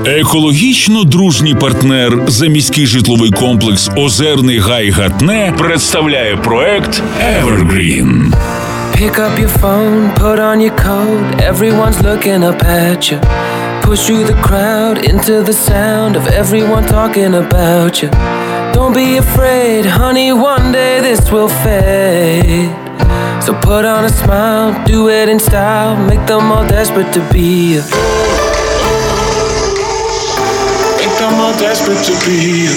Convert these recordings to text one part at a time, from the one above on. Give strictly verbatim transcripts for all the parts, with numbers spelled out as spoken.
Екологічно дружній партнер заміський житловий комплекс «Озерний гай Гатне» представляє проект Evergreen. Pick up your phone, put on your coat, everyone's looking up at you. Push through the crowd into the sound of everyone talking about you. Don't be afraid, honey, one day this will fade. So put on a smile, do it in style, make them all desperate to be you. Make them all desperate to be you.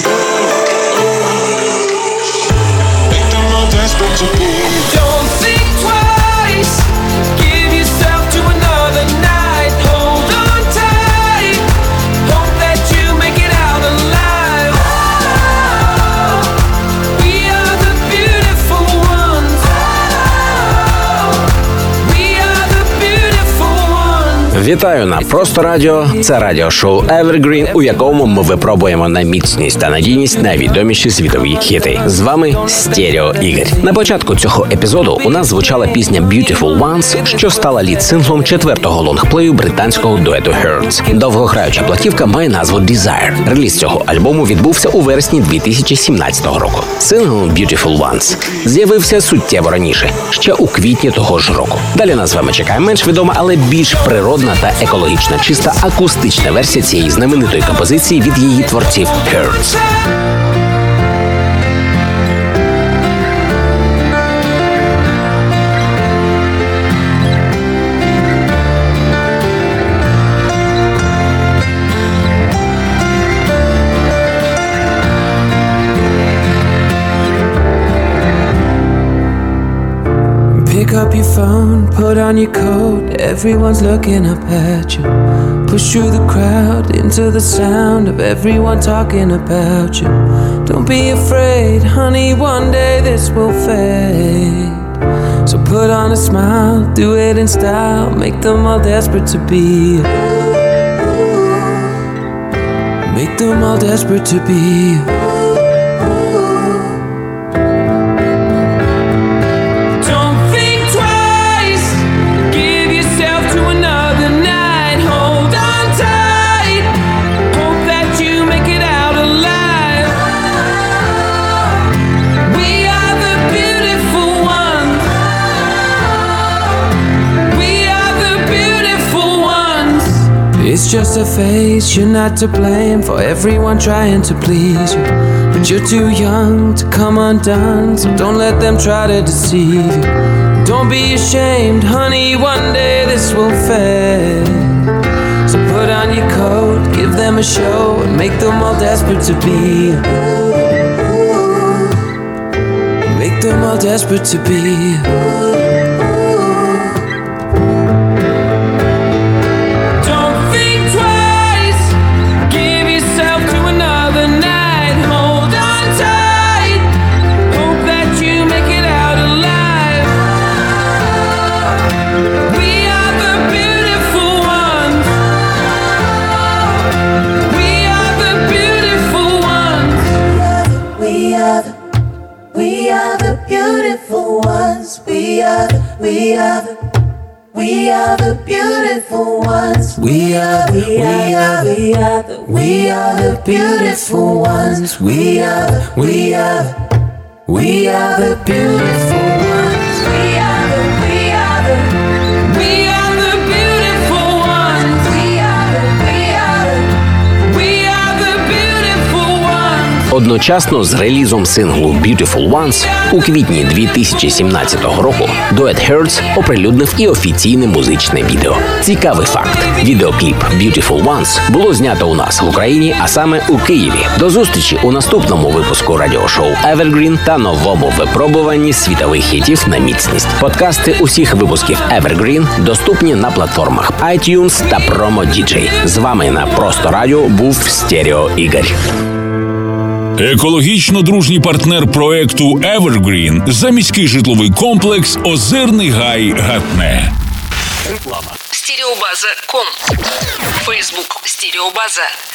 Make them all desperate to be you. Don't think twice, give yourself to another night. Hold on tight, hope that you make it out alive. Oh, we are the beautiful ones. Oh, we are the beautiful ones. Вітаю на Просто Радіо. Це радіошоу Evergreen, у якому ми випробуємо на міцність та надійність найвідоміші світові хіти. З вами Стерео Ігор. На початку цього епізоду у нас звучала пісня Beautiful Ones, що стала лід-синглом четвертого лонгплею британського дуету Hurts. Довгограюча платівка має назву Desire. Реліз цього альбому відбувся у вересні дві тисячі сімнадцятого року. Сингл Beautiful Ones з'явився суттєво раніше, ще у квітні того ж року. Далі нас з вами чекає менш відома, але більш природна та екологічно чиста акустична версія цієї знаменитої композиції від її творців Hurts. Pick up your phone, put on your coat, everyone's looking up at you. Push through the crowd into the sound of everyone talking about you. Don't be afraid, honey, one day this will fade. So put on a smile, do it in style, make them all desperate to be you. Make them all desperate to be you. It's just a phase, you're not to blame for everyone trying to please you. But you're too young to come undone, so don't let them try to deceive you. Don't be ashamed, honey, one day this will fade. So put on your coat, give them a show, and make them all desperate to be you. Make them all desperate to be you. We are the, we are the beautiful ones. We are, we are, we are the, we are the beautiful ones. We are, we are, we are the beautiful ones. We are the, we are the, we are the beautiful ones. We are the, we are the, we are the beautiful ones. Одночасно з релізом синглу Beautiful Ones у квітні дві тисячі сімнадцятого року дует Hurts оприлюднив і офіційне музичне відео. Цікавий факт. Відеокліп Beautiful Ones було знято у нас в Україні, а саме у Києві. До зустрічі у наступному випуску радіошоу Evergreen та новому випробуванні світових хітів на міцність. Подкасти усіх випусків Evergreen доступні на платформах iTunes та Promo ді джей. З вами на Просто Радіо був Стерео Ігор. Екологічно дружній партнер проекту Evergreen заміський житловий комплекс «Озерний гай Гатне». Стереобаза точка ком. Фейсбук Стереобаза.